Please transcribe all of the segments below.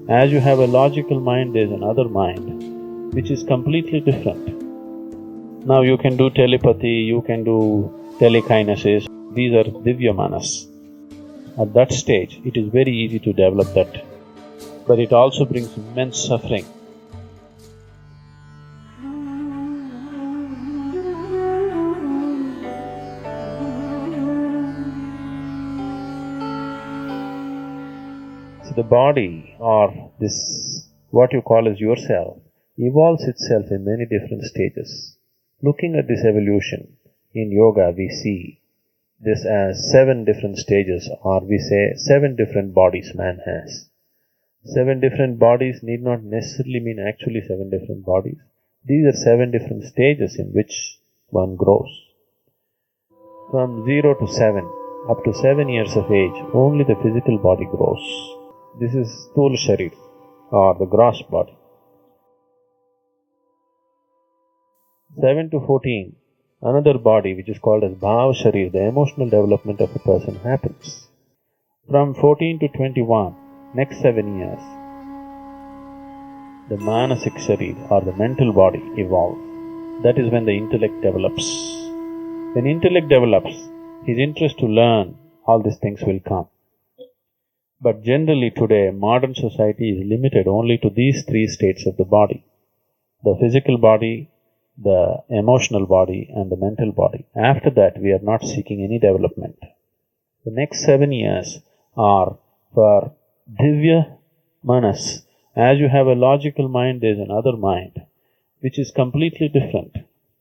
As you have a logical mind, there's another mind, which is completely different. Now you can do telepathy, you can do telekinesis, these are Divya Manas. At that stage, it is very easy to develop that, but it also brings immense suffering. So the body, or this, what you call as yourself, evolves itself in many different stages. Looking at this evolution, in yoga we see this as 7 different stages, or we say 7 different bodies man has. 7 different bodies need not necessarily mean actually 7 different bodies. These are 7 different stages in which one grows. From 0 to 7, up to 7 years of age, only the physical body grows. This is Sthula Sharir, or the gross body. 7 to 14, another body which is called as Bhav Sharir, the emotional development of a person happens. From 14 to 21, next 7 years, the Manasik Sharir, or the mental body, evolves. That is when the intellect develops. When intellect develops, his interest to learn, all these things will come. But generally today, modern society is limited only to these 3 states of the body: the physical body, the emotional body, and the mental body. After that, we are not seeking any development. The next 7 years are for Divya Manas. As you have a logical mind, there is another mind, which is completely different.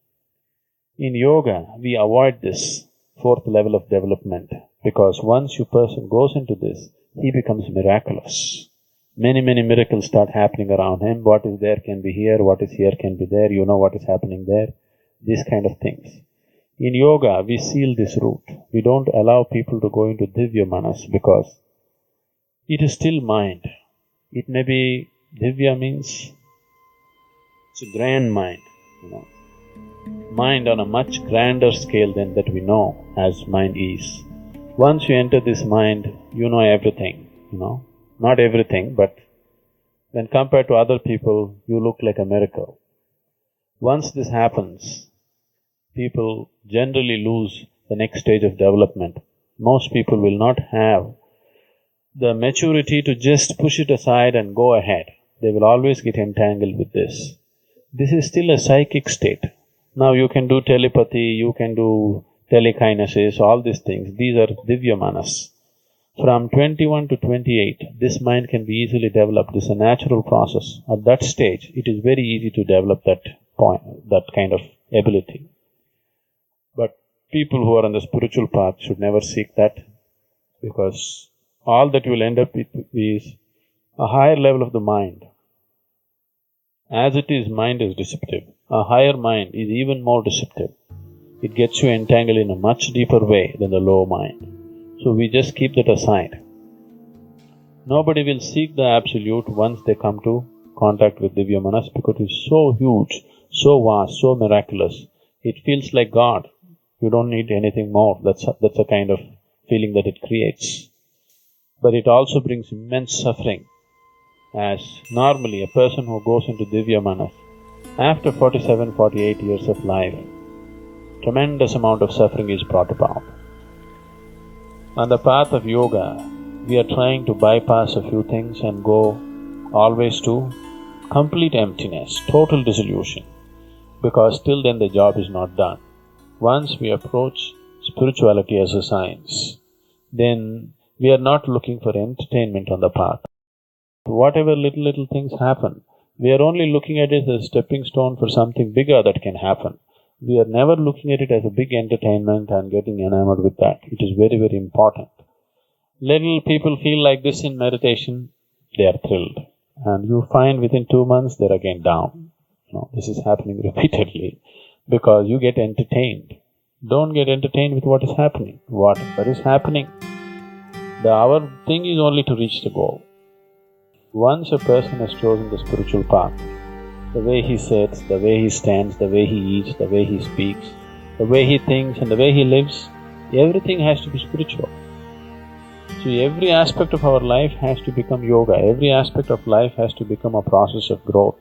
In yoga, we avoid this 4th level of development, because once a person goes into this, he becomes miraculous. Many miracles start happening around him. What is there can be here, what is here can be there, you know what is happening there, these kind of things. In yoga, we seal this route. We don't allow people to go into Divya Manas because it is still mind. It may be, Divya means it's a grand mind, Mind on a much grander scale than that we know as mind is. Once you enter this mind, you know everything, Not everything, but when compared to other people, you look like a miracle. Once this happens, people generally lose the next stage of development. Most people will not have the maturity to just push it aside and go ahead. They will always get entangled with this. This is still a psychic state. Now you can do telepathy, you can do telekinesis, all these things. These are Divya Manas. From 21 to 28, this mind can be easily developed. This is a natural process. At that stage, it is very easy to develop that kind of ability. But people who are on the spiritual path should never seek that, because all that will end up with is a higher level of the mind. As it is, mind is deceptive. A higher mind is even more deceptive. It gets you entangled in a much deeper way than the low mind. So we just keep that aside. Nobody will seek the Absolute once they come to contact with Divya Manas, because it is so huge, so vast, so miraculous. It feels like God. You don't need anything more. That's a kind of feeling that it creates. But it also brings immense suffering, as normally a person who goes into Divya Manas, after 47, 48 years of life, tremendous amount of suffering is brought about. On the path of yoga, we are trying to bypass a few things and go always to complete emptiness, total dissolution, because till then the job is not done. Once we approach spirituality as a science, then we are not looking for entertainment on the path. Whatever little things happen, we are only looking at it as a stepping stone for something bigger that can happen. We are never looking at it as a big entertainment and getting enamored with that. It is very important. Little people feel like this in meditation, they are thrilled. And you find within 2 months they're again down. This is happening repeatedly because you get entertained. Don't get entertained with what is happening. What is happening? Our thing is only to reach the goal. Once a person has chosen the spiritual path, the way he sits, the way he stands, the way he eats, the way he speaks, the way he thinks and the way he lives, everything has to be spiritual. See, every aspect of our life has to become yoga, every aspect of life has to become a process of growth.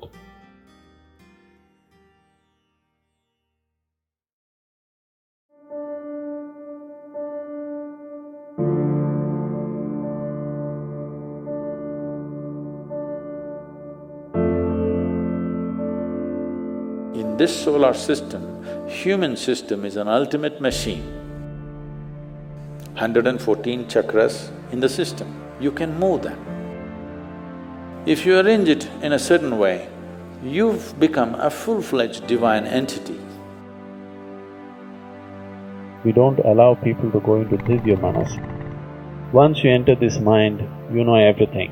In this solar system, human system is an ultimate machine. 114 chakras in the system, you can move them. If you arrange it in a certain way, you've become a full-fledged divine entity. We don't allow people to go into Divya Manas. Once you enter this mind, you know everything.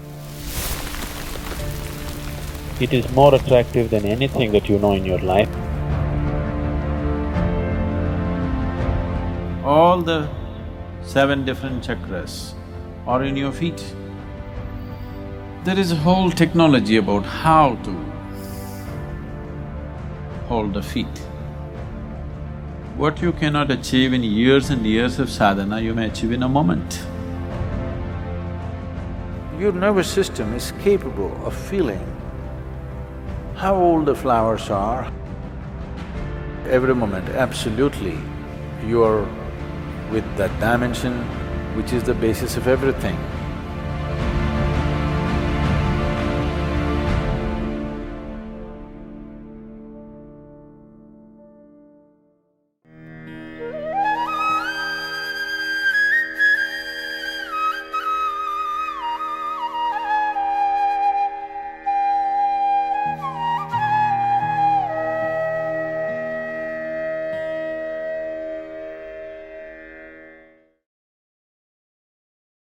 It is more attractive than anything that you know in your life. All the 7 different chakras are in your feet. There is a whole technology about how to hold the feet. What you cannot achieve in years and years of sadhana, you may achieve in a moment. Your nervous system is capable of feeling how old the flowers are. Every moment, absolutely, you are with that dimension which is the basis of everything.